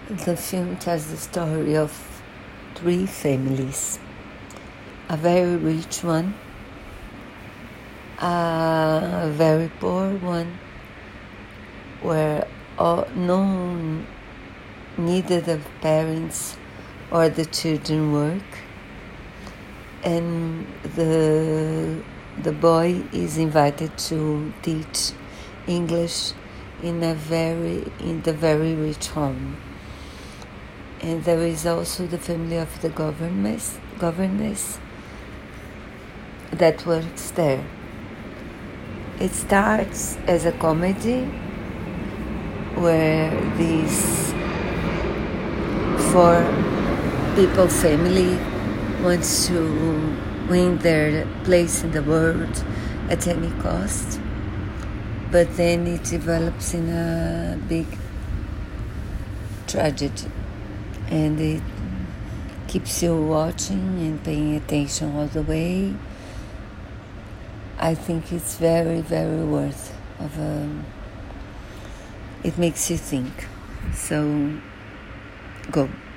The film tells the story of three families. A very rich one, a very poor one, where neither the parents or the children work, and the boy is invited to teach English in the very rich home. And there is also the family of the governess that works there. It starts as a comedy where these four people family wants to win their place in the world at any cost, but then it develops in a big tragedy, and it keeps you watching and paying attention all the way. I think it's very, very worth of it makes you think. So go.